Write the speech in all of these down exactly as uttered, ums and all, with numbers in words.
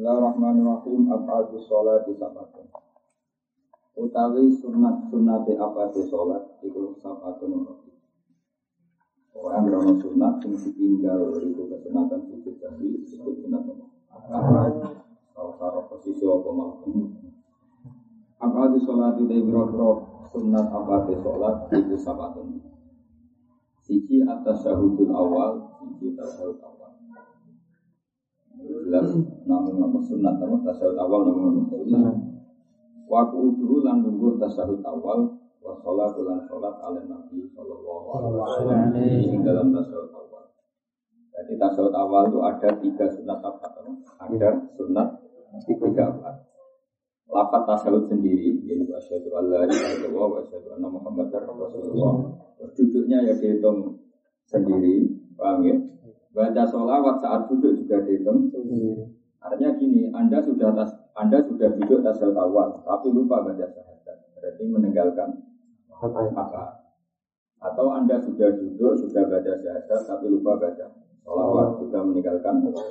Bismillahirrahmanirrahim. Abadu sholat di sabatun. Utawi sunat sunate abadu sholat itu sabatun. Orang berono sunat yang ditinggal itu kesunatan sujud tadi disebut sunat abad. Kalau taruh posisi apa maupun. Abadu sholat itu berokro sunat abadu sholat itu sabatun. Siji atas syahudul awal, siji tasawuf awal. Jelas namun nama sunat, namun tasawuf awal namun nama sunat. Waku udhu lan nunggu tasawuf awal, wa sholatu lan sholat ala Nabi sallallahu alaihi wasallam ini dalam tasawuf awal. Jadi tasawuf awal itu ada tiga sunat apa? Ada sunat tiga apa? Lafaz tasawuf sendiri, yaitu asyhadu alla ilaha illallah wa asyhadu anna muhammadar rasulullah. Duduknya ya dihitung sendiri, paham ya? Baca sholawat saat duduk juga dihitung sendiri. Artinya gini, Anda sudah tas, Anda sudah duduk tasawuf awal, tapi lupa baca syahadat, berarti meninggalkan apa? Atau Anda sudah duduk, sudah baca syahadat, tapi lupa baca sholawat, juga meninggalkan apa?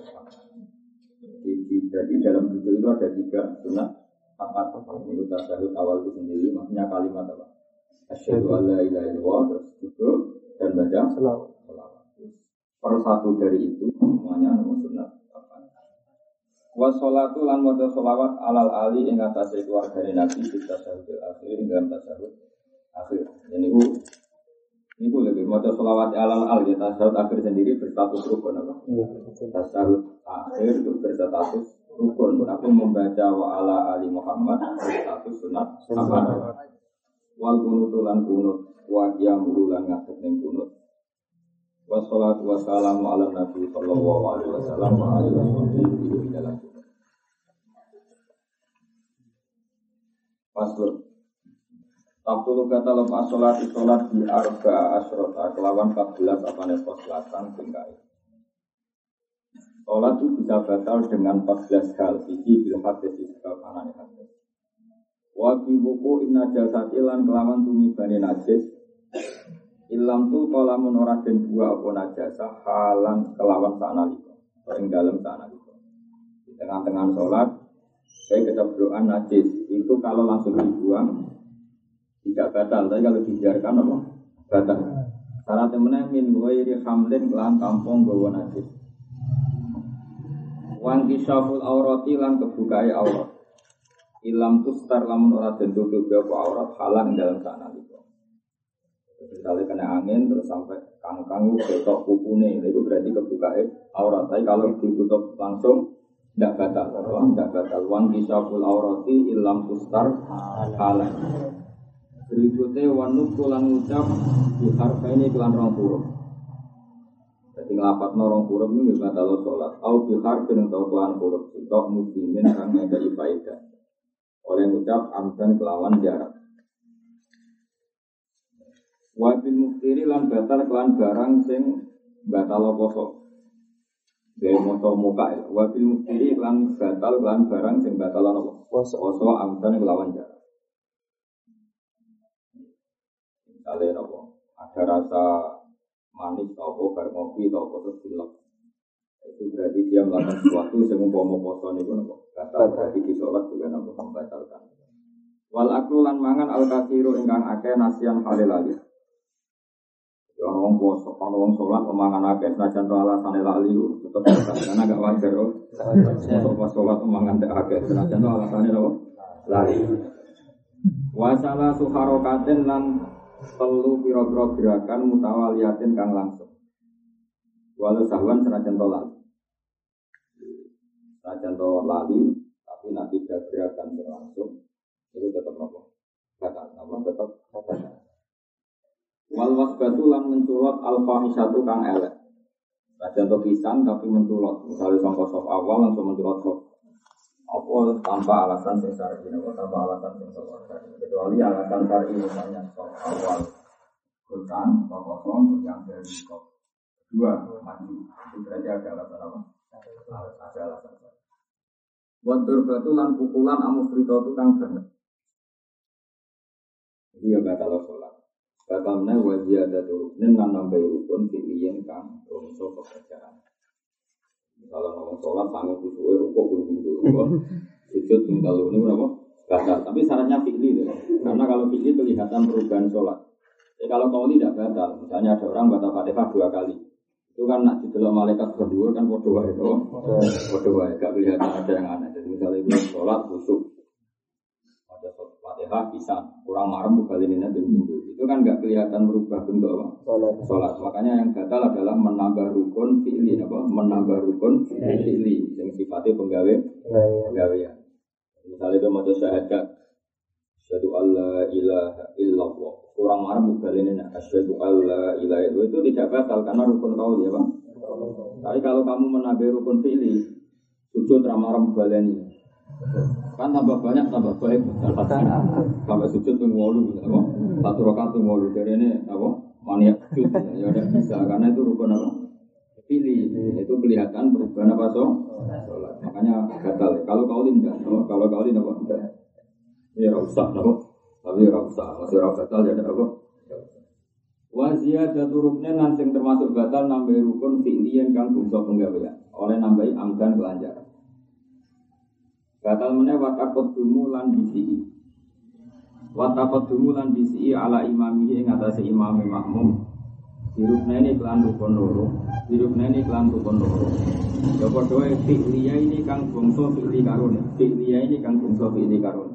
Jadi dalam duduk itu ada tiga sunat apa? Ini tasawuf awal itu sendiri, maksudnya kalimat apa? Asyhadu alla ilaha illallah, terus duduk dan baca selawat. Per satu dari itu semuanya nama sunat apa? Wa sholatu lan maca sholawat alal ali ing atase keluargane Nabi kita tasyahudul akhir ing dalam tasyahud akhir. Ini ku niku lagi maca sholawat alal ali tasyahud akhir sendiri berstatus rukun apa? Tasyahud akhir itu berstatus rukun, tapi membaca wa ala ali Muhammad berstatus sunat apa? Wal kunutu lan kunut wa qiyamul lan ngadeg ning kunut. Wassalatu wassalamu ala nabi sallallahu alaihi wasallam wa alihi wasallam dalam kunut. Pasur. Tabtul kata lepas salat salat di arba asyrata kelawan empat belas apane pos selatan tingkai. Salat itu bisa batal dengan empat belas hal iki bil hadis sebab anane hadis. Wa fi buku inna jasati lan kelawan tumibane najis ilam tu kalamun ora den dua apa najasa halan kelawan sanalika ing dalem sanalika di tengah-tengah salat saya keceblokan najis itu kalau langsung dibuang tidak batal, tapi kalau dibiarkan apa batal. Syarat meneh min ghairi hamlin lan tampung gawa najis wan kisaful aurati lan kebukae aurat ilam tustar lamun ora den tutup apa aurat halan dalam sana itu. Misalnya kena angin terus sampai kangkang ketok kupune itu berarti kebukae aurat. Tapi kalau ditutup langsung tidak batal, tidak batal. Wan kisaful aurati ilam tustar halan. Berikutnya wanuk pulang ucap di harfa ini kelan rong huruf. Jadi ngelapat norong huruf ini batal sholat. Au di harfa yang tahu kelan huruf itu muslimin karena ada ibadah. Oleh ucap amdan kelawan jarak. Wabil muftiri lan batal kelan barang sing batal poso. Dari moto muka ya. Wabil muftiri lan batal kelan barang sing batal apa? Poso. Poso amdan kelawan jarak. Misalnya apa? Ada rasa manis atau bar ngopi atau terus dilek. Itu berarti dia melakukan sesuatu yang umpama poso niku napa batal berarti di salat juga napa membatalkan. Wal aklu lan mangan al katsiru ingkang akeh nasian halilali. Ya ana wong poso, ana wong salat mangan akeh senajan to alasane lali tetep batal karena gak wajar kok. Untuk pas salat mangan akeh senajan to alasane napa lali. Wa sala suharokatin lan telu pira-pira gerakan mutawaliyatin kang langsung. Walau sahwan senajan to lali, senajan to lali, tapi nanti tiga gerakan langsung itu tetap apa? Batal, apa tetap batal. Wal wasbatu lan menculot al-fahisatu kang elek. Senajan to pisan tapi menculot, misalnya sangka sop awal langsung menculot sop. Apa tanpa alasan sing syar'i, apa tanpa alasan sing syar'i. Kecuali alasan syar'i misalnya sop awal kurang, sop kosong, yang dari sop dua maju, itu berarti ada alasan apa? Ada alasan. Wantur batu lan pukulan amufrito itu kang banget. Iya batal sholat. Batalnya wajib ada turun dan nambah rukun fi'liyen kang rongso pekerjaan. Kalau ngomong sholat sanggup disuwe rukuk pun pintu. Sujud ping telu niku napa? Batal. Tapi syaratnya fi'li. Karena kalau fi'li kelihatan perubahan sholat. Jadi kalau qauli tidak batal. Misalnya ada orang batal Fatihah dua kali. Itu kan nak didelok malaikat berdua kan padha wae to. Padha wae gak kelihatan ada yang aneh. Jadi misalnya itu sholat khusyuk. Ada Fatihah bisa kurang marem bukalinina di minggu. Itu kan gak kelihatan berubah bentuk apa? Sholat. Makanya yang batal adalah menambah rukun fi'li apa? Menambah rukun fi'li yang sifatnya penggawe penggawean. Misalnya itu mau syahadat asyhadu alla ilaha illallah. Kurang marem bukalinina asyhadu alla ilaha illallah itu tidak batal karena rukun qauli ya, Pak. Tapi kalau kamu menambah rukun fi'li sujud ra marem bukalini. Kan tambah banyak tambah baik. Sampai sujud ping wolu apa? Satu rakaat ping wolu jarene apa? Maniak sujud ya udah bisa karena itu rukun apa? Pilih itu kelihatan perubahan apa so? Sholat. Makanya batal. Kalau kaulin enggak, no? Kalau kaulin apa enggak? Ya rusak, no? Tapi rusak. Masih rusak batal ya ada apa? Wazia jaturuknya nanti termasuk batal nambah rukun fi'liyan kang bungso penggawean oleh nambahi amdan kelanjaran. Batal meneh watakot dumu lan bisi. Watakot dumu lan bisi ala imamihi ing atase imam makmum. Dirukna ini kelan rukun loro. Dirukna ini kelan rukun loro. Ya padha wae fi'liya ini kang bangsa fi'li karone. Fi'liya ini kang bangsa fi'li karone.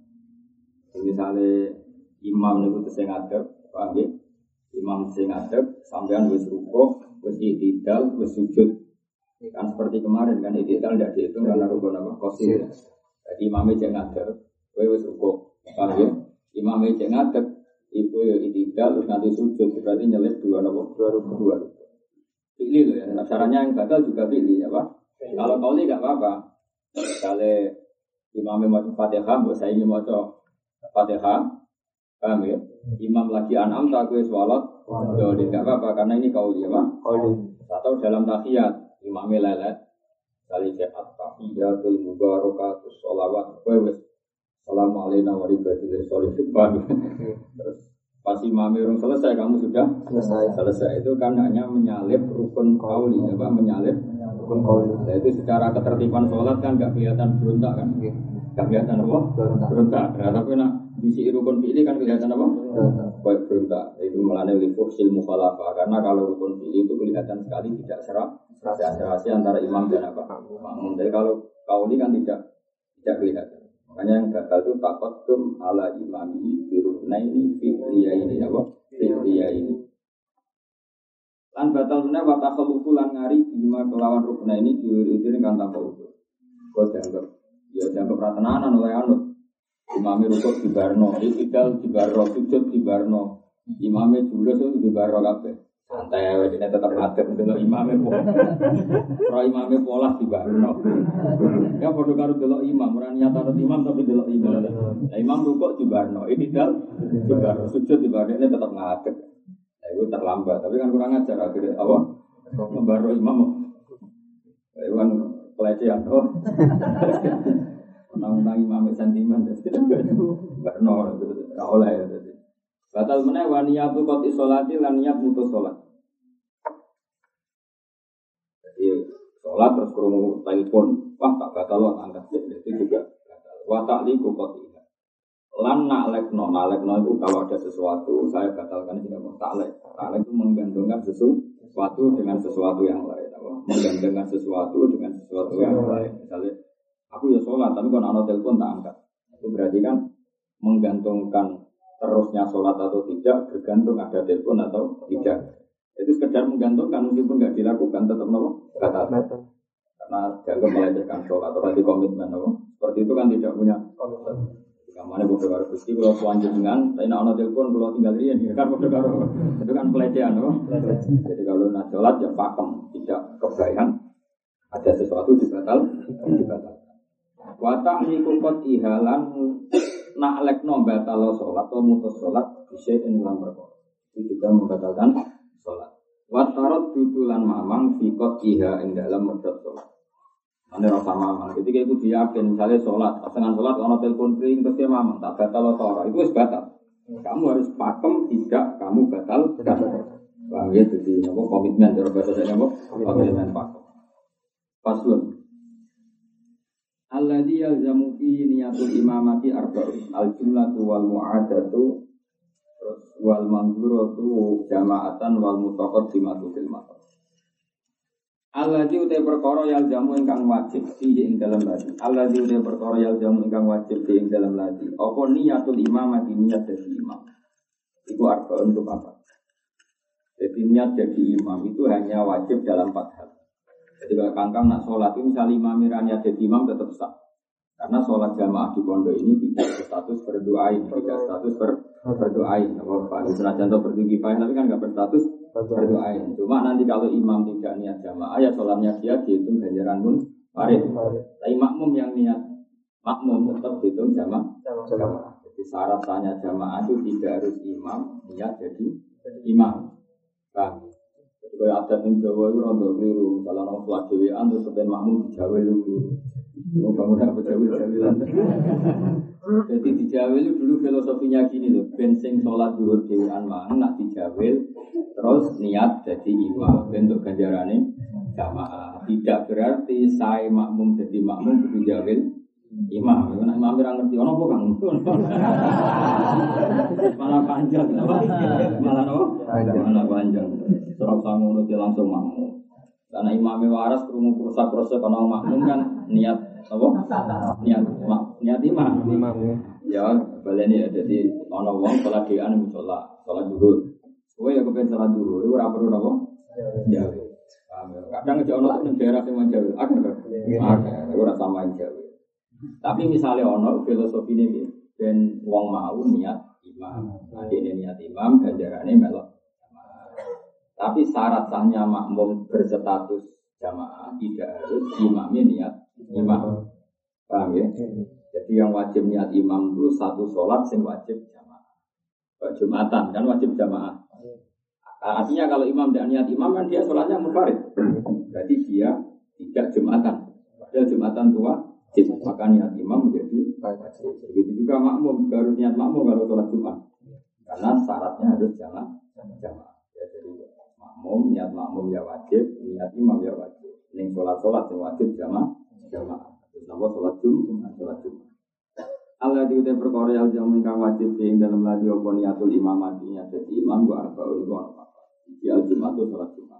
Misale imam niku sing ngadeg, paham nggih? Imam sing ngadeg sampean wis rukuk, wis i'tidal, wis sujud. Kan seperti kemarin kan i'tidal ndak dihitung karena rukun apa? Qasir. Jadi imame cek ngadeg, kowe wis rukuk. Paham nggih? Imame cek ngadeg iku ya i'tidal terus nanti sujud berarti nyelip dua nopo dua rukun dua rukun. Pilih loh ya, nah, caranya yang batal juga pilih ya Pak. Kalau qauli enggak apa-apa. Kalau imam mau Fatihah, mbok saya ini maca Fatihah. Paham ya? Imam lagi an'am ta kowe salat, yo enggak apa-apa karena ini qauli ya Pak. Qauli. Atau dalam tahiyat imam lelet kali cek at-tahiyatul mubarakatus sholawat kowe wis Assalamualaikum warahmatullahi wabarakatuh. Terus pas imam urung selesai kamu sudah selesai. Selesai itu kan hanya menyalip rukun qauli, apa menyalip rukun qauli. Nah, itu secara ketertiban sholat kan enggak kelihatan berontak kan? Enggak kelihatan apa? Berontak. Nah, tapi nak bisi rukun fi'li kan kelihatan apa? Baik berontak. Itu melane li fuhsil mukhalafah karena kalau rukun fi'li itu kelihatan sekali tidak serap serasi antara imam dan apa? Makmum. Jadi kalau qauli kan tidak tidak kelihatan. Makanya yang gagal itu taqaddum ala imamihi biruknaini fi'liyaini apa? Fi'liyaini. Lan batal meneh wa takhallufu lan ngari bima kelawan ruknaini diwiri-wiri kan tanpa udzur. Kok dianggap ya dianggap ra tenanan oleh anut. Imame rukuk di barno, i'tidal di barno, sujud di barno. Imame julus di barno kabeh. Santai ae dene tetep ngadeg delok imame kok. Ora imame pola di barno. Ya padha karo delok imam, ora niat arep imam tapi delok imam. Lah imam rukuk di barno, i'tidal di barno, sujud di barno ini tetep ngadeg. Lah itu terlambat, tapi kan kurang ajar akhirnya apa? Membarno imam. Lah itu kan pelecehan tuh. Menang-menang imam sentimen barno ora oleh ya. Batal meneh wa niyatu qati sholati lan niat mutus sholat. Jadi sholat terus krungu telepon, wah tak batal lo angkat itu juga batal. Wa ta'liqu qati. Lan na'lekno, na'lekno itu kalau ada sesuatu saya batalkan tidak mau ta'lek. Ta'lek itu menggantungkan sesuatu dengan sesuatu yang lain, apa? Menggantungkan sesuatu dengan sesuatu yang lain. Misalnya aku ya sholat tapi kalau ana telepon tak angkat. Itu berarti kan menggantungkan terusnya sholat atau tidak bergantung ada telepon atau tidak. Itu sekedar menggantungkan meskipun tidak dilakukan tetap nopo batal. Karena dianggap melecehkan sholat atau di komitmen nopo. Seperti itu kan tidak punya komitmen. Kamane bodoh karo Gusti kalau selanjutnya saya nak ana telepon kalau tinggal riyen ya kan bodoh karo. Itu kan pelecehan nopo. Jadi kalau nak sholat ya pakem tidak kebayang ada sesuatu dibatal dibatal. Wa ta'liqu qatihalan nak lekno batal sholat atau mutus sholat bisa dalam perkara itu juga membatalkan sholat. Watarot dudulan mamang fikot iha ing dalam medot sholat. Ane rasa mamang. Ketika itu diyakin misalnya sholat, pasangan sholat kalau telepon ring terus dia mamang tak batal atau itu wis batal. Kamu harus pakem tidak kamu batal. Bang ya jadi nopo komitmen cara bahasa saya nopo komitmen pakem. Paslon. Alladzi yalzamu fi niyatul imamati arba'un al-jumlatu wal mu'adatu wal manzuratu jama'atan wal mutaqaddimatu fil matar. Alladzi uta perkara yalzamu ingkang wajib fihi ing dalem lati. Alladzi uta perkara yalzamu ingkang wajib fihi ing dalem lati. Apa niyatul imamati niat dadi imam. Iku arba'un untuk apa? Jadi niat jadi imam itu hanya wajib dalam empat hal. Jadi kalau kangkang nak sholat itu misalnya imam niat jadi imam tetap sah. Karena sholat jamaah di pondok ini tidak berstatus berdoain, tidak status ber, berdoain. Apa senajan atau berdikifah tapi kan nggak berstatus berdoain. Cuma nanti kalau imam tidak niat jamaah ya sholatnya dia dihitung ganjaran pun farid. Tapi makmum yang niat makmum tetap dihitung jamaah. Jamaah. Jadi syarat sahnya jamaah itu tidak harus imam niat jadi imam. Bang, kalau adat yang Jawa itu rontok keliru, misalnya orang sholat dewean terus sebenarnya makmum di Jawa itu, mau kamu dapat Jawa Jawilan. Jadi di Jawa itu dulu filosofinya gini loh, bensin sholat duhur dewean mang, nak di Jawa terus niat jadi imam, bentuk ganjarannya jamaah. Tidak berarti saya makmum jadi makmum di Jawa imam, karena imam orang ngerti, orang apa kang? Malah panjang, malah apa? Malah panjang. Serap sangun itu langsung makmum. Karena imamnya waras, kerungu kursa kursa karena makmum kan niat apa? Niat niat imam. Ya, baleni ya. Jadi orang orang sholat dian musola, sholat duhur. Kowe ya kepen sholat duhur, itu rapor apa? Ya. Kadang aja orang daerah yang menjauh, ada kan? Ada, itu rasa main jauh. Tapi misalnya ono filosofi ini dan wong mau niat imam, nanti ini niat imam ganjarannya melok. Tapi syarat sahnya makmum berstatus jamaah tidak harus imamnya niat imam, paham ya? Jadi yang wajib niat imam itu satu sholat yang wajib jamaah. Jumatan kan wajib jamaah. Artinya kalau imam tidak niat imam kan dia sholatnya munfarid. Berarti dia tidak jumatan. Padahal jumatan tua. Maka niat imam menjadi wajib. Begitu juga makmum juga harus niat makmum kalau sholat Jumat. Karena syaratnya harus jamaah. Jamaah. Ya, jadi makmum niat makmum ya wajib, niat imam ya wajib. Ning sholat-sholat yang wajib jamaah. Jamaah. Terus nama sholat Jumat, sholat Jumat. Allah diutai perkara yang jamu ingkang wajib ing dalam ladi apa niatul imamati niat jadi imam gua arba'un gua apa. Di al-Jumat itu sholat Jumat.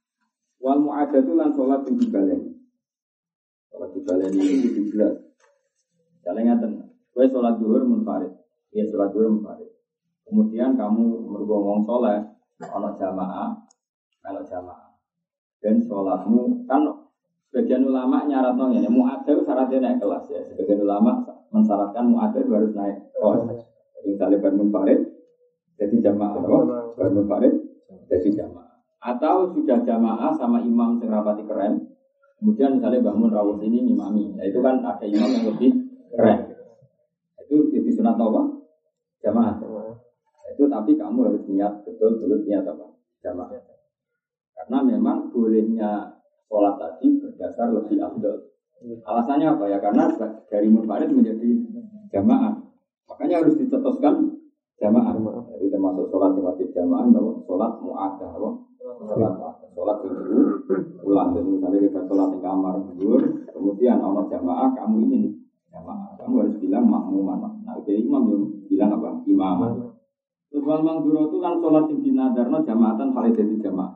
Wal mu'adatu lan sholat yang dibaleni. Sholat dibaleni itu dibelas. Jalan ngaten. Kowe sholat zuhur munfarid. Ya sholat zuhur munfarid. Kemudian kamu mergongong sholat ana jamaah, kalau jamaah. Dan sholatmu kan sebagian ulama nyaratno ngene, mu'adzab syaratnya naik kelas ya. Sebagian ulama mensyaratkan mu'adzab harus naik kelas. Jadi misalnya bar munfarid jadi jamaah, bar munfarid jadi jamaah. Atau sudah jamaah sama imam sing rapati keren. Kemudian misalnya bangun rawuh ini imami, nah, itu kan ada imam yang lebih keren. Itu jadi sunat apa? Jamaah. Itu tapi kamu harus niat betul-betul niat apa? Jamaah. Karena memang bolehnya sholat tadi berdasar lebih afdal. Alasannya apa ya? Karena dari munfarid menjadi jamaah. Makanya harus dicetuskan jamaah. Jadi termasuk sholat yang wajib jamaah, sholat mu'adah, sholat sholat dulu pulang. Jadi misalnya kita sholat di kamar dulu, kemudian ono jamaah kamu ingin jamaah, kamu harus bilang makmuman. Nah itu imam yang bilang apa? Imam. Terus wal mangduro itu kan sholat yang dinadarno jamaatan paling jadi jamaah.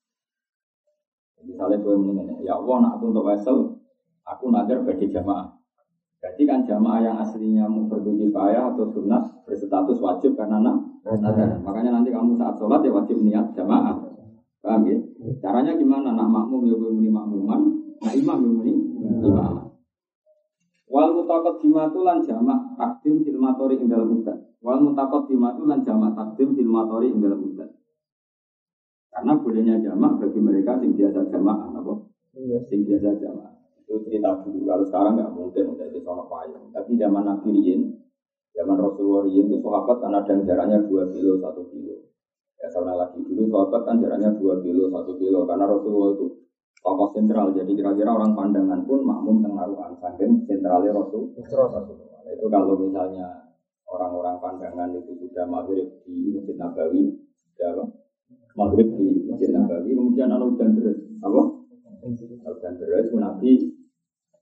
Misalnya gue mengingat, ya Allah, nak aku untuk wesel, aku nadar bagi jamaah. Jadi kan jamaah yang aslinya fardu kifayah atau sunat berstatus wajib karena nadar. Makanya nanti kamu saat sholat ya wajib niat jamaah. Paham ya? Caranya gimana? Nak makmum ya gue muni makmuman, nak imam ya muni imam. Wal mutaqaddimatu lan jamak takdim fil matori ing dalam muddат. Wal mutaqaddimatu lan jamak takdim fil matori ing dalam muddат. Karena bolehnya jamak bagi mereka sing biasa jamaah, apa? Sing biasa jamaah. Itu cerita dulu. Kalau sekarang nggak mungkin udah di sono payung. Tapi zaman Nabi Riyin, zaman Rasulullah Riyin itu sahabat kan ada yang jaraknya dua kilo, satu kilo. Ya sama lagi dulu sahabat kan jaraknya dua kilo, satu kilo. Karena Rasulullah itu tokoh sentral. Jadi kira-kira orang pandangan pun makmum tengaruhan. Saking sentralnya Rasulullah. Itu kalau misalnya orang-orang pandangan itu sudah maghrib di Masjid Nabawi, ya maghrib di Masjid Nabawi, kemudian ada hujan deras, apa? Hujan deras, Nabi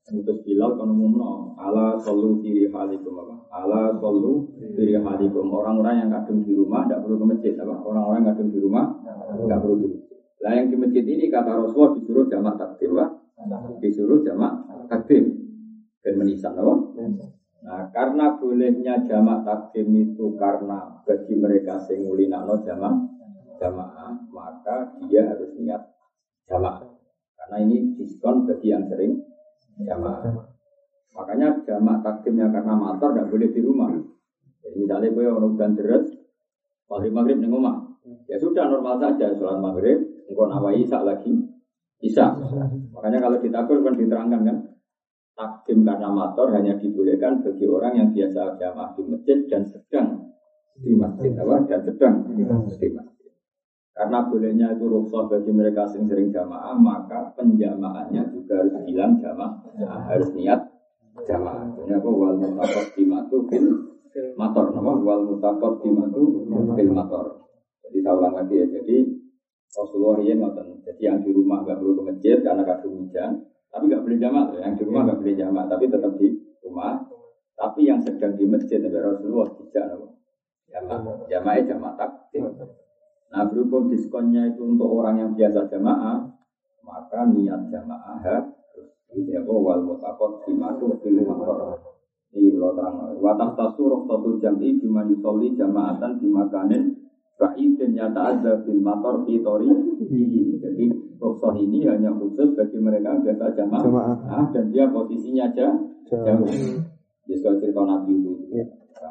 Mutus Bilal kan umumno ala sallu fi rihalikum apa? Ala sallu fi rihalikum. Orang-orang yang kadung di rumah tidak perlu ke masjid apa? Orang-orang yang kadung di rumah tidak perlu di masjid. Lah yang di masjid ini kata Rasulullah disuruh jamak takdim apa? Disuruh jamak takdim dan menisan apa? Nah, karena bolehnya jamak takdim itu karena bagi mereka sing ngulinakno jamak jamaah, maka dia harus niat jamak. Karena ini diskon bagi yang sering jamaah. Makanya jamak takdimnya karena mator tidak boleh di rumah. Jadi misalnya gue orang udan deres, maghrib maghrib di rumah, ya sudah normal saja sholat maghrib, engkau nawai isak lagi, isak. Makanya kalau ditakul kan diterangkan kan, takdim karena mator hanya dibolehkan bagi orang yang biasa jamaah di masjid dan sedang di masjid, apa? Dan sedang di masjid. Karena bolehnya itu rukhsah bagi mereka yang sering jamaah, maka penjamaahnya juga harus bilang jamaah, nah, harus niat jamaah. Ini apa? Wal mutaqaddimatu fil mator, nama wal mutaqaddimatu fil mator. Jadi saya ulang lagi ya. Jadi Rasulullah yang ngoten. Jadi yang di rumah nggak perlu ke masjid karena kadung hujan, tapi nggak boleh jamaah. Yang di rumah nggak boleh jamaah, tapi tetap di rumah. Tapi yang sedang di masjid, Rasulullah tidak jamaah, jamaah jamaah takdim. Nah, berhubung diskonnya itu untuk orang yang biasa jamaah, maka niat jamaah harus ini apa wal mutaqaddimatu fil mator. Ini kalau terang. Wa tahtasuru satu jam'i bima yusolli jama'atan bimakanin ba'idin yata'adza bil mator fi tariqihi. Jadi rukhsah ini hanya khusus bagi mereka biasa jamaah, jamaah. Dan dia posisinya aja jauh. Jadi kalau cerita Nabi itu. Ya.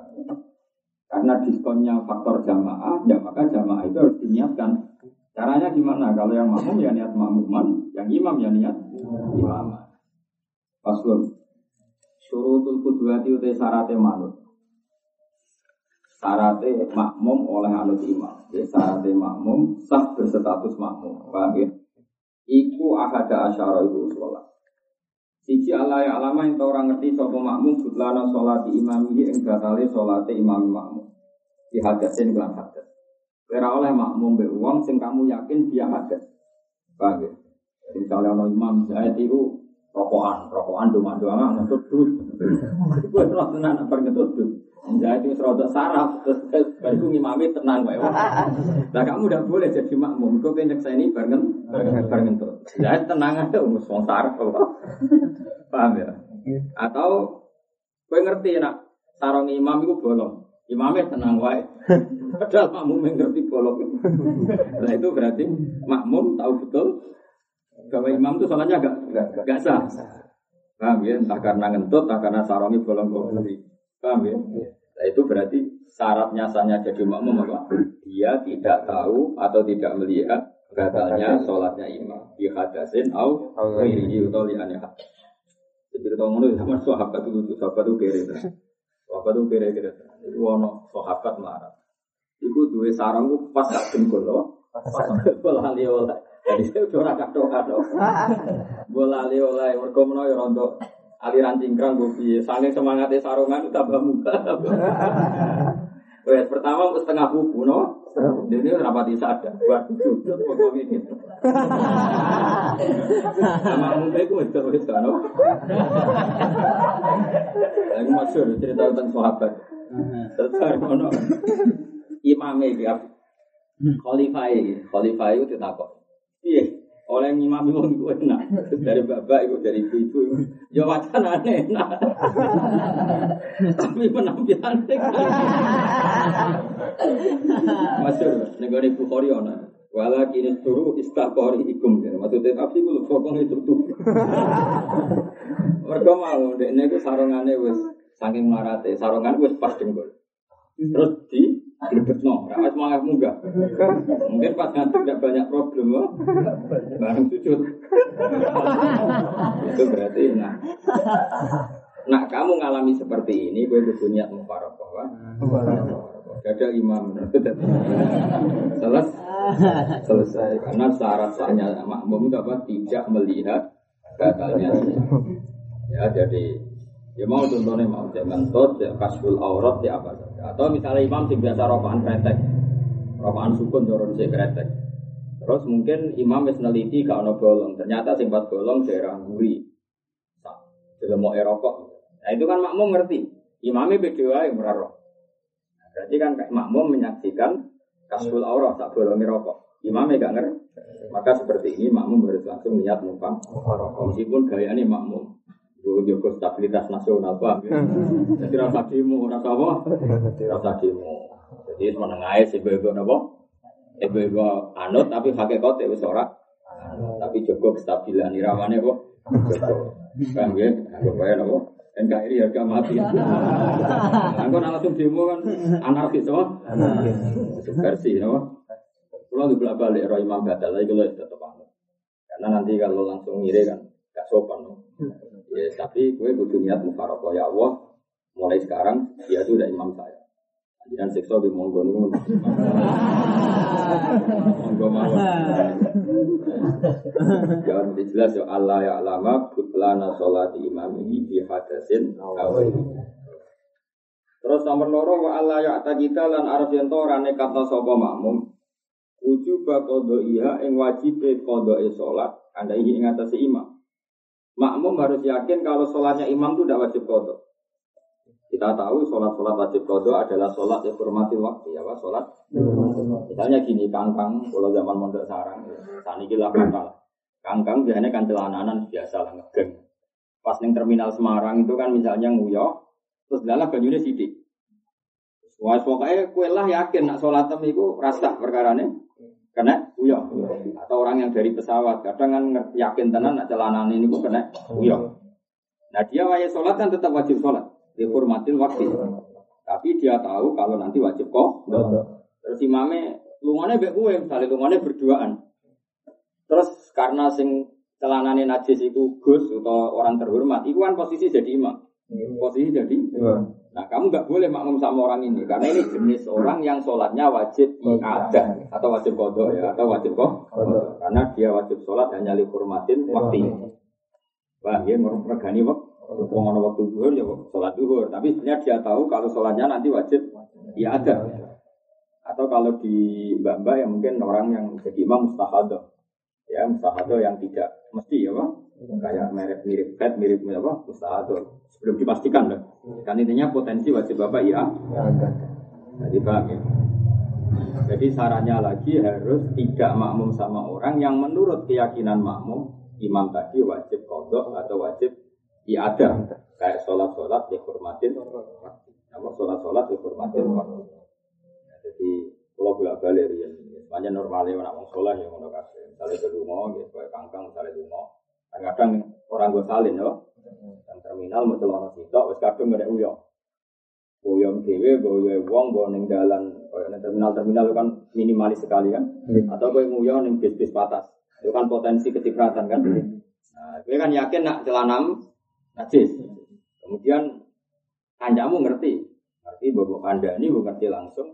Karena diskonnya faktor jamaah, ya maka jamaah itu harus diniatkan. Caranya gimana? Kalau yang makmum ya niat makmuman, yang imam ya niat imam. Paslon. Syurutul qudwati utai syaratnya manut. Syaratnya makmum oleh anut imam. Ya, syaratnya makmum sah berstatus makmum. Paham ya? Iku ahada asyara itu sholat. Siji Allah ya alama yang orang ngerti sopo makmum butlana sholati imamihi ing batale sholati imam makmum. Di hadasin kelan hadas. Kira oleh makmum be uang sing kamu yakin dia hadas. Paham ya? Misalnya ono imam Zaid itu rokokan, rokokan doma-doma ngentut dus. Gue terus tenan apa ngentut dus. Zaid itu rodok saraf terus baru ngimami tenang wae. Lah kamu udah boleh jadi makmum. Kok pengen nyekseni bareng bareng ngentut. Zaid tenang aja wis wong saraf. Paham ya? Atau kowe ngerti nak sarung imam iku bolong. Imamnya tenang wae. Padahal makmum yang ngerti bolong. Nah itu berarti makmum tahu betul bahwa imam itu salahnya agak enggak enggak sah. Paham ya? Entah karena ngentut, entah karena sarungnya bolong-bolong. Paham ya? Nah itu berarti syaratnya sahnya jadi makmum apa? Dia tidak tahu atau tidak melihat batalnya sholatnya imam. Di hadasin au ghairihi atau li anha. Jadi tahu ngono sama sahabat itu sahabat itu kere. Sahabat itu kere-kere. Itu ono sahabat melarat. Iku duwe sarung ku pas gak dengkul loh. Pas bola li oleh. Jadi saya ora kathok-kathok. Bola li oleh mergo menawa ya rondo aliran cingkrang go piye. Saking semangate sarungan tambah muka. Wes pertama setengah buku no. Dene rapati sadar. Buat sujud pokok iki. Sama mungkin ku wis wis no. Aku maksud cerita tentang sahabat. Terus ono imame iki khalifah iki, khalifah itu ditakok. Piye? Oleh imam wong iku enak. Dari bapak iku dari ibu-ibu. Ya wacanane enak. Tapi penampilannya masyhur ning gone Bukhari ana. Wala kini turu istaqori ikum. Maksudnya tapi kulo pokong itu tuh. Mergo mau ndekne iku sarungane wis saking marate, sarungan wis pas dengkul. Terus di glebetno, ora wis malah munggah. Mungkin pas ngantuk tidak banyak problem loh. Bareng sujud. Itu berarti nah. Nah, kamu ngalami seperti ini, gue kudu niat mufaraqah, wa. Ada imam selesai, selesai karena syarat sahnya makmum itu apa? Tidak melihat batalnya. Ya, jadi ya mau contohnya mau jangan tot, ya kasful aurat, ya apa saja. Atau misalnya imam sing biasa rokokan kretek, rokokan sukun dorong si kretek. Terus mungkin imam wis neliti gak ono bolong, ternyata sing pas bolong daerah nguri. Delok rokok. Nah itu kan makmum ngerti. Imamnya beda yang merarok. Nah, berarti kan makmum menyaksikan kasful aurah tak bolongi rokok. Imamnya gak ngerti. Maka seperti ini makmum harus langsung niat mumpang rokok. Meskipun gayanya makmum. Itu juga stabilitas nasional Pak. Jadi rasa demo, rasa apa? Rasa demo. Jadi menengahnya si bego apa? Bego anut tapi hakikat itu ora. Tapi cukup kestabilan iramanya kok. Cukup. Kan ya, anggap aja apa? N K R I harga mati. Aku langsung demo kan anarkis apa? Subversi apa? Kalau dibelah balik roh imam batal, lagi kalau tetap anut. Karena nanti kalau langsung ngiri kan gak sopan. Ya, tapi gue butuh niat mufarokoh ya Allah. Mulai sekarang dia itu udah imam saya. Jangan siksa di monggo nih. Monggo mawon. Jangan dijelas ya Allah ya alama butlana sholati imamihi bi hadasin awal. Terus nomor loro wa Allah ya kita lan arep yen to ora nekatno sapa makmum. Wujub qadha iya ing wajibe qadhae salat anda ing ngatasi imam. Makmum harus yakin kalau sholatnya imam itu tidak wajib qadha. Kita tahu sholat-sholat wajib qadha adalah sholat yang hormati waktu ya, Pak, sholat. Misalnya gini, kangkang kalau zaman mondok sarang, saniki lah kangkang. Kangkang biasanya kan celananan biasa lah ngegeng. Pas ning terminal Semarang itu kan misalnya nguyok, terus dalah banyune sithik. Wah, pokoknya kowe lah yakin nak sholat tem iku rasa perkarane kena uyah. Atau orang yang dari pesawat kadang kan yakin tenan nak celanane niku kena uyah. Nah, dia wajib sholat kan tetap wajib sholat. Dihormatin waktu. Tapi dia tahu kalau nanti wajib kok. Terus imamnya lungane mbek kowe, misale lungane berduaan. Terus karena sing celanane najis iku Gus atau orang terhormat, iku kan posisi jadi imam. Posisi jadi imam. Nah, kamu enggak boleh makmum sama orang ini karena ini jenis orang yang sholatnya wajib iadah atau wajib qadha ya, atau wajib kok. Karena dia wajib sholat hanya dihormatin waktu. Wah, dia meregani waktu. Wong ana waktu zuhur ya salat zuhur, tapi sebenarnya dia tahu kalau salatnya nanti wajib ya ada. Atau kalau di mbak-mbak yang mungkin orang yang jadi imam mustahadah. Ya, mustahadah yang tidak mesti ya, Pak. Kayak mirip-mirip fat, mirip apa? Mustahadah. Sebelum dipastikan loh. Kan intinya potensi wajib Bapak ya. Jadi paham ya. Jadi sarannya lagi harus tidak makmum sama orang yang menurut keyakinan makmum imam tadi wajib qadha atau wajib iya ada, kayak sholat-sholat dihormatin apa sholat-sholat dihormatin waktu. Nah, jadi kalau bolak-balik ya, semuanya normalnya orang sholat yang orang kasih, misalnya berlungo, gitu, kayak kangkang misalnya lungo. Kadang orang gue salin loh, yang terminal mau celana sitok, wes kadang nggak ada uyang, uyang dewe, uyang uang, bawa neng jalan, terminal-terminal itu kan minimalis sekali kan, atau gue uyang neng bis-bis patas, itu kan potensi kecipratan kan. Nah, gue kan yakin nak celanam najis. Kemudian kancamu ngerti, ngerti bahwa anda ini bukan ngerti langsung,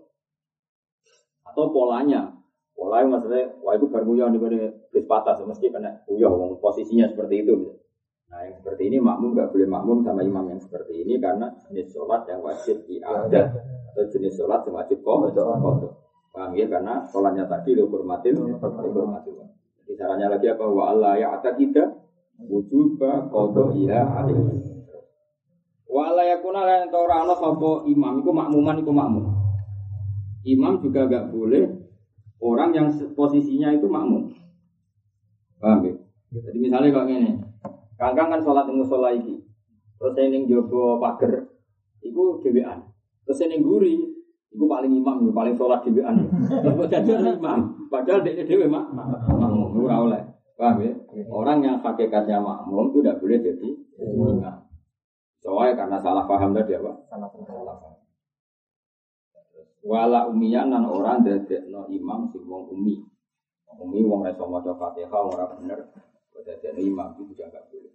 atau polanya, polanya maksudnya, wah itu berguyah di mana bis patas, mesti kena guyah, posisinya seperti itu. Nah yang seperti ini makmum nggak boleh makmum sama imam yang seperti ini karena jenis sholat yang wajib iadah atau jenis sholat yang wajib qadha. Paham ya? Karena sholatnya tadi dihormatin, dihormatin. Jadi caranya lagi apa? Wa Allah ya atas kita. Wujuba qadha iya alaihi. Wala yakuna lan ora ana sapa imam iku makmuman iku makmum. Imam juga enggak boleh orang yang posisinya itu makmum. Paham ya? Jadi misalnya kalau ngene, kangkang kan salat ning musala iki. Terus ning jaba pager iku dhewean. Terus ning guri iku paling imam, paling salat dhewean. Kok dadi imam, padahal dhek dhewe mak makmum ora oleh. Paham ya? Orang yang hakikatnya makmum itu tidak boleh jadi imam. Soalnya karena salah paham tadi apa? Salah paham. Wala umiyan nan orang dadekno imam sing wong umi. Umi wong ra iso maca Fatihah ora bener, dadekno imam itu juga enggak boleh.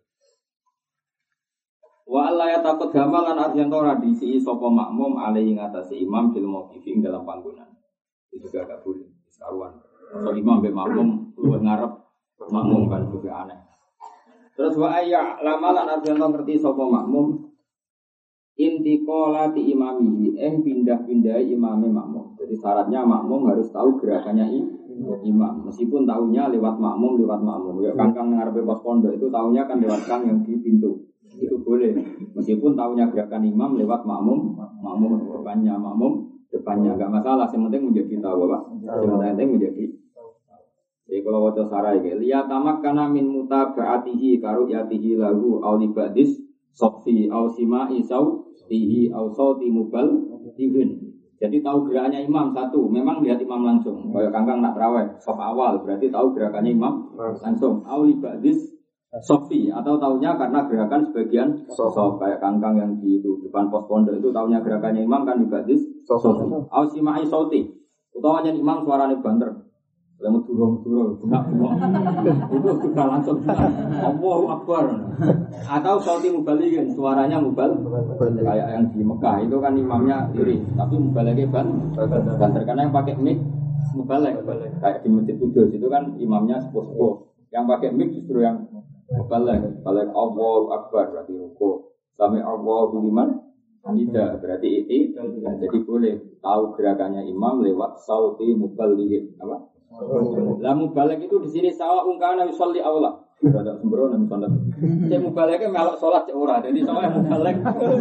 Wa alla ya takut gamalan arjen ora diisi sapa makmum alai ing atase imam fil mauqifing dalam panggonan. Itu juga enggak boleh. Saruan. So imam be makmum luwih ngarep makmum kan juga aneh. Terus wa ayya lamalan arjanto ngerti sapa makmum intiqalati imamihi eng pindah-pindah imame makmum. Jadi syaratnya makmum harus tahu gerakannya imam. Meskipun tahunya lewat makmum lewat makmum. Ya kangkang ngarepe pos pondok itu tahunya kan lewat kang yang di pintu. itu boleh. Meskipun tahunya gerakan imam lewat makmum, makmum depannya, makmum depannya enggak masalah. Yang penting menjadi tahu apa? Yang penting menjadi. Jadi kalau wajah sarai ke, lihat tamak karena min mutaba'atihi karu yatihi lahu aulibadis sofi ausima isau tihi ausauti mubal tihin. Jadi tahu gerakannya imam satu, memang lihat imam langsung. Kayak kangkang nak terawih, sof awal berarti tahu gerakannya imam langsung. Aulibadis sofi atau tahunya karena gerakan sebagian sof. Kayak kangkang yang di itu, depan pos pondok itu tahunya gerakannya imam kan libadis sofi. Ausima isauti, utamanya imam suaranya banter. Lemu turun-turun, enggak buang. Itu sudah langsung Allahu Akbar. Atau sauti mubalikin, suaranya mubal. Kayak yang di Mekah itu kan imamnya iri, tapi mubaliknya ban. Banter karena yang pakai mic mubalik. Kayak di Masjid Kudus itu kan imamnya sepuh-sepuh. Yang pakai mic justru yang mubalik. Balik Allahu Akbar berarti ruku. Sami Allahu liman hamidah berarti itu. Jadi boleh tahu gerakannya imam lewat sauti mubalikin. Apa? Lah mubalek itu di sini sawa ungkana yusolli aula. Ada sembrono nang salat. Cek mubaleke melok salat cek ora. Jadi sawa mubalek.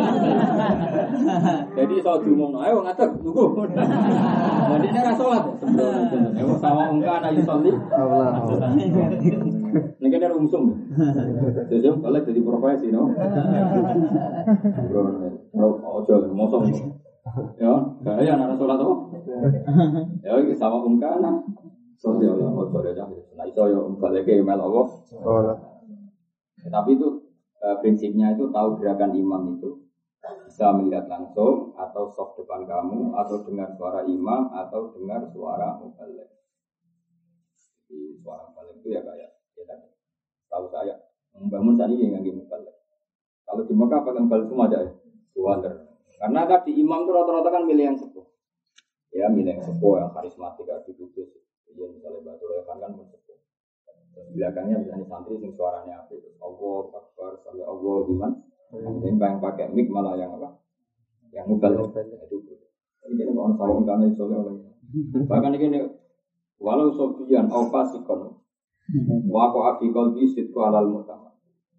Jadi sawa diumumno ayo ngatur tunggu. Jadi ora salat sembrono. Ayo sawa ungkana yusolli aula. Nek ada rumsum. Jadi mubalek jadi profesi no. Sembrono. Ojo mosong. Ya, gaya ana salat to. Ya iki sawa ungkana Sorry Allah, oh sorry dah. Nah itu yo balik ke email Allah. Oh. Tapi itu e, prinsipnya itu tahu gerakan imam itu bisa melihat langsung atau soft depan kamu atau dengar suara imam atau dengar suara mubalik. Jadi suara mubalik itu ya kayak ya kan. Tahu saya membangun saat ini yang mubalik. Kalau di Mekah pakai mubalik semua aja ya. Wonder. Karena tadi imam itu rata-rata kan milih yang sepuh. Ya milih yang sepuh yang karismatik harus dikudus. Iya misalnya Batu Rekan kan bersepuh. Belakangnya misalnya santri sing suaranya apa itu Allah Akbar sampai Allah gimana? Kemudian yang pakai mic malah yang apa? Yang mubal itu. Ini kan orang sawang karena itu oleh. Bahkan ini walau sofian au fasikon wa ko afikol bisit ko alal mutama.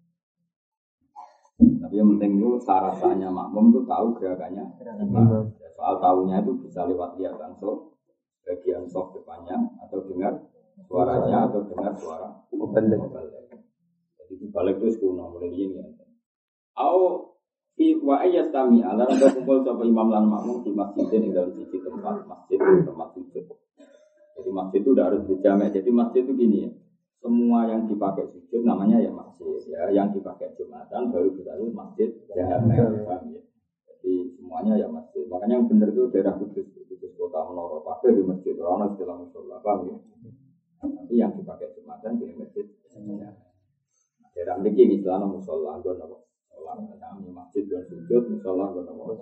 Tapi yang penting itu syaratnya makmum itu tahu gerakannya. Soal tahunya itu bisa lewat lihat langsung. Bagian soft depannya atau dengar suaranya atau dengar suara mubalik. Jadi mubalik itu sekuno mulai ini. Au fi wa ayastami ala ada kumpul sama imam lan makmum di masjid ini dalam sisi tempat masjid tempat sujud. Jadi masjid itu udah harus berjamak. Jadi masjid itu gini ya. Semua yang dipakai sujud namanya ya masjid ya. Yang dipakai jumatan baru kita itu masjid jamak. Ya. Jadi semuanya ya masjid. Makanya yang benar itu daerah Kudus. Kota Menara pakai di masjid Rana setelah musola paham ya. Nanti yang dipakai jumatan di masjid. Daerah ini Islam musola gon apa? Musola kami masjid dan sujud musola gon apa?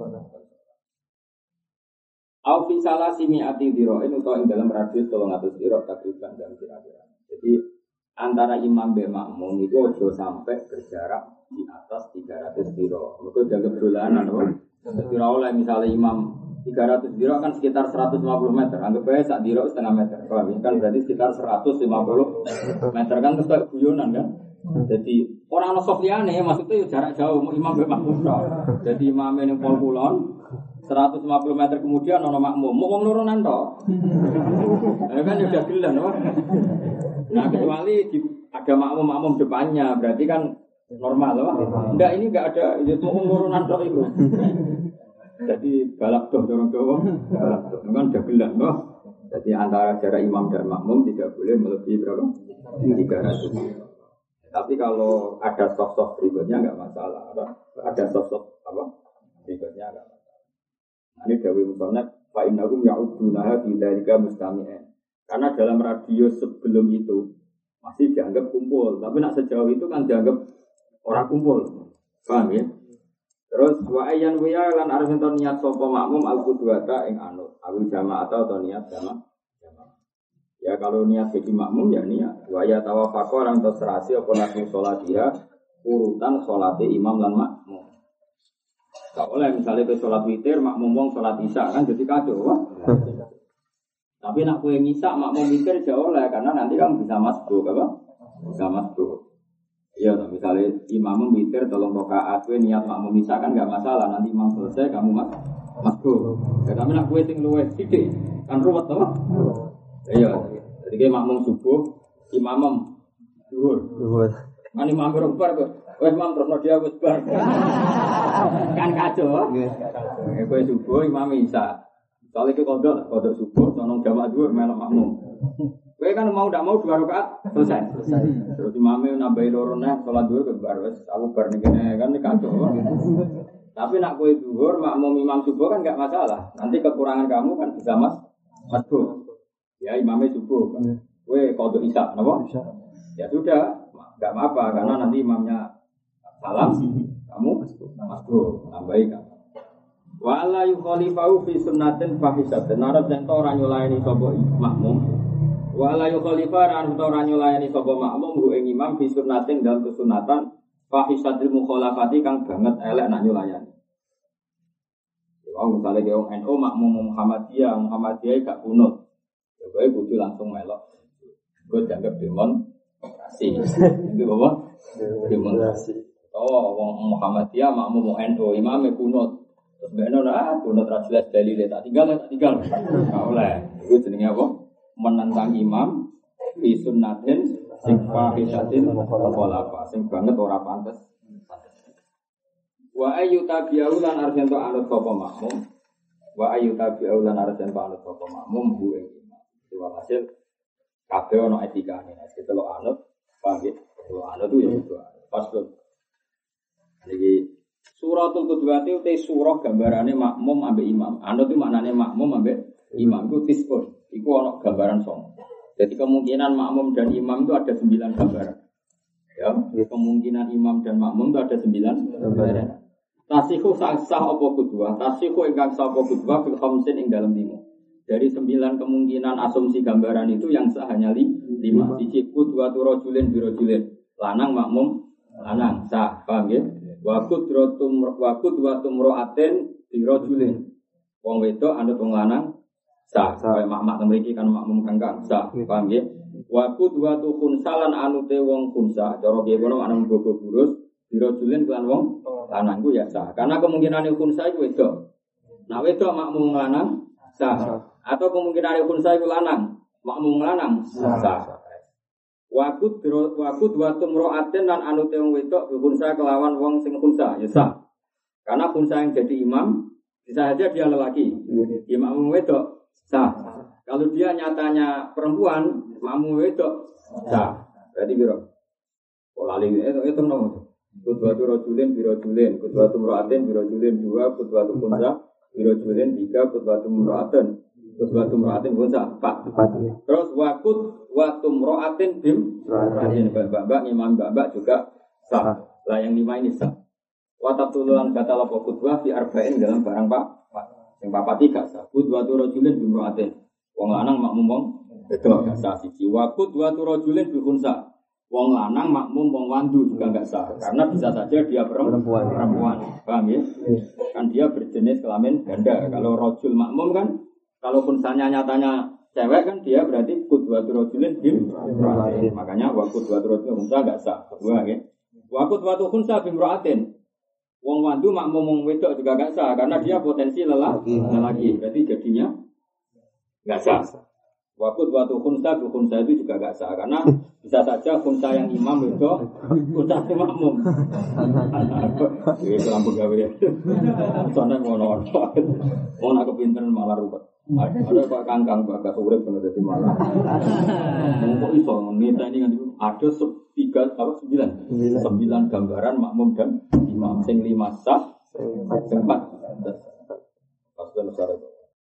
Au fi salasi mi'ati dira'in utawa ing dalam radius tolong atus dira takriban dan kira-kira. Jadi antara imam dan makmum itu ojo sampai berjarak di atas tiga ratus dira. Mergo jaga dolanan apa? Jadi oleh misalnya imam tiga ratus dirok kan sekitar seratus lima puluh meter. Anggap aja sak dirok setengah meter. Kalau kan berarti sekitar seratus lima puluh meter kan terus kayak guyonan kan. Jadi orang Sofiane maksudnya jarak jauh imam be makmum. Jadi imam yang pol kulon seratus lima puluh meter kemudian ono makmum. Mau wong nurunan tok. Ya kan udah gelan apa? Nah kecuali di, ada makmum-makmum depannya berarti kan normal loh. Enggak ini enggak ada itu mau nurunan tok itu. Jadi balap doh dorong-dorong, balap doh kan udah gelar toh. Jadi antara jarak imam dan makmum tidak boleh melebihi berapa? tiga ratus. Tapi kalau ada soft-soft berikutnya enggak masalah. Ada soft-soft apa? Berikutnya enggak masalah. Nah, ini Dawi Musonab, fa innahum ya'udunaha fi dzalika mustami'an. Karena dalam radius sebelum itu masih dianggap kumpul, tapi nak sejauh itu kan dianggap orang kumpul. Paham ya? Terus wa ayyan wa lan arep ento niat sapa makmum al-qudwata ing anut awil jamaah atau niat jamaah. Ya kalau niat jadi makmum ya niat wa ya tawafaqa orang terserasi apa nabi salat dia urutan salate imam lan makmum. Gak oleh misalnya ke salat witir makmum wong salat isya kan jadi kacau wah. Tapi nak kowe ngisa makmum witir jauh oleh karena nanti kan bisa masbuk apa? Bisa masbuk. Iya, misalnya imam witir tolong rakaat, kowe niat makmum isa kan enggak masalah. Nanti imam selesai kamu mas masuk. Ya, tapi nak kowe sing luwih sithik kan ruwet to. Iya. Jadi kayak makmum subuh, imam zuhur. Zuhur. Kan imam berubah kok. Wes imam terus dia wis bar. Kan kacau. Nggih. Kowe subuh imam isa. Soalnya ke kodok, kodok subuh, sonong jamaah zuhur melok makmum. Kowe kan mau ndak mau dua rakaat selesai. Selesai. Terus imamnya nambahi loro neh salat zuhur ke bar wis aku bar ning kene kan kacau. Tapi nak kowe zuhur makmum imam subuh kan enggak masalah. Nanti kekurangan kamu kan bisa mas masuk. Ya imamnya subuh. Kowe kodok isya napa? Ya sudah, enggak apa-apa karena nanti imamnya salam kamu masuk nambahi kan. Wa la yukhalifu fi sunnatin fahisatin. Narap yen ora nyulayani sapa makmum. Wa la yukhalifu ran ora nyulayani sapa makmum ku ing imam fi sunnatin dalam kesunatan fahisatil mukhalafati kang banget elek nak nyulayani. Ya misalnya ke wong N U makmum Muhammadiyah, Muhammadiyah gak kunut. Ya kowe kudu langsung melok. Kowe dianggap demonstrasi. Itu apa? Demonstrasi. Oh, wong Muhammadiyah makmum N U imame kunut. Terus bener ah, kunut ra jelas dalile tak tinggal tak tinggal. Enggak oleh. Iku jenenge apa? Menentang imam fi sunnatin sing fahisatin wala sing banget ora pantes. Wa ayu tabi'u lan arjanto anut sapa makmum. Wa ayu tabi'u lan arjanto anut sapa makmum bu ing imam. Iku hasil kabeh ana etikane. Nek delok anut, paham ya? Delok anut itu ya itu. Pas lho. Iki Suratul Qudwati utai surah gambarannya makmum ambek imam. Anut itu maknanya makmum ambek imam itu tispun. Itu ada gambaran song. Jadi kemungkinan makmum dan imam itu ada sembilan gambaran. Ya, kemungkinan imam dan makmum itu ada sembilan gambaran. Tasihu sah apa kudwah. Tasihu ingkang sah apa kudwah fil khamsin ing dalam lima. Dari sembilan kemungkinan asumsi gambaran itu yang sah hanya lima. Siji kudwah tu rajulin bi rajulin. Lanang makmum lanang sah. Paham ya? Wakut rotum wakut watum roaten dirojulin. Wong wedok anut wong lanang sah. Kaya mak-mak mriki kan makmum kangkang sah. Paham nggih? Wakut watu khunsalan anute wong khunsa. Cara piye kono ana bobo burus dirojulin kelan wong lanang ku ya sah. Karena kemungkinan khunsa iku wedok. Nah wedok makmum lanang sah. Atau kemungkinan khunsa iku lanang makmum lanang sah. Wakut wakut watum roaten dan anute wong wedok khunsa kelawan wong sing khunsa ya sah. Karena khunsa yang jadi imam bisa saja dia lelaki. Imam wedok sah. Kalau dia nyatanya perempuan, makmum wedok sah. Berarti biro. Pola lagi itu itu nomor. Kudwatu rojulin biro julin, kudwatu roaten biro julin dua, kudwatu khunsa biro julin tiga, kudwatu roaten. Kudwatu mra'atin khunsa empat. Terus wakut watum mra'atin bim mra'atin babak imam babak juga sah. Lah yang lima ini sah. Watatululan batal apa kudwah fi arba'in dalam barang pak. Yang papat tiga sah. Kudwatu rajulin bim mra'atin. Wong lanang makmum wong wedok gak sah siji. Wakut watu rajulin bi khunsa. Wong lanang makmum wong wandu juga enggak sah karena bisa saja dia perempuan. Perempuan. Paham ya? Kan dia berjenis kelamin ganda. Kalau rajul makmum kan kalau khonsanya nyatanya cewek kan dia berarti kudwatu rajulin bim mra'atin. Makanya wa kudwatu rajulin khunsa enggak sah. Kedua nggih. Wa kudwatu khunsa bim mra'atin. Wong wandu makmum wong wedok juga enggak sah karena dia potensi lelaki. Lelaki. Berarti jadinya enggak sah. Wa kudwatu khunsa bim khunsa itu juga enggak sah karena bisa saja khunsa yang imam itu khunsa yang makmum. Iki kelam pegawe. Soalnya ngono. Wong nak kepinteran malah ruwet. Ada Pak Kangkang bagas urip kena dadi malah. Kok iso nita ini kan ada tiga apa sembilan sembilan gambaran makmum dan imam sing lima sah, empat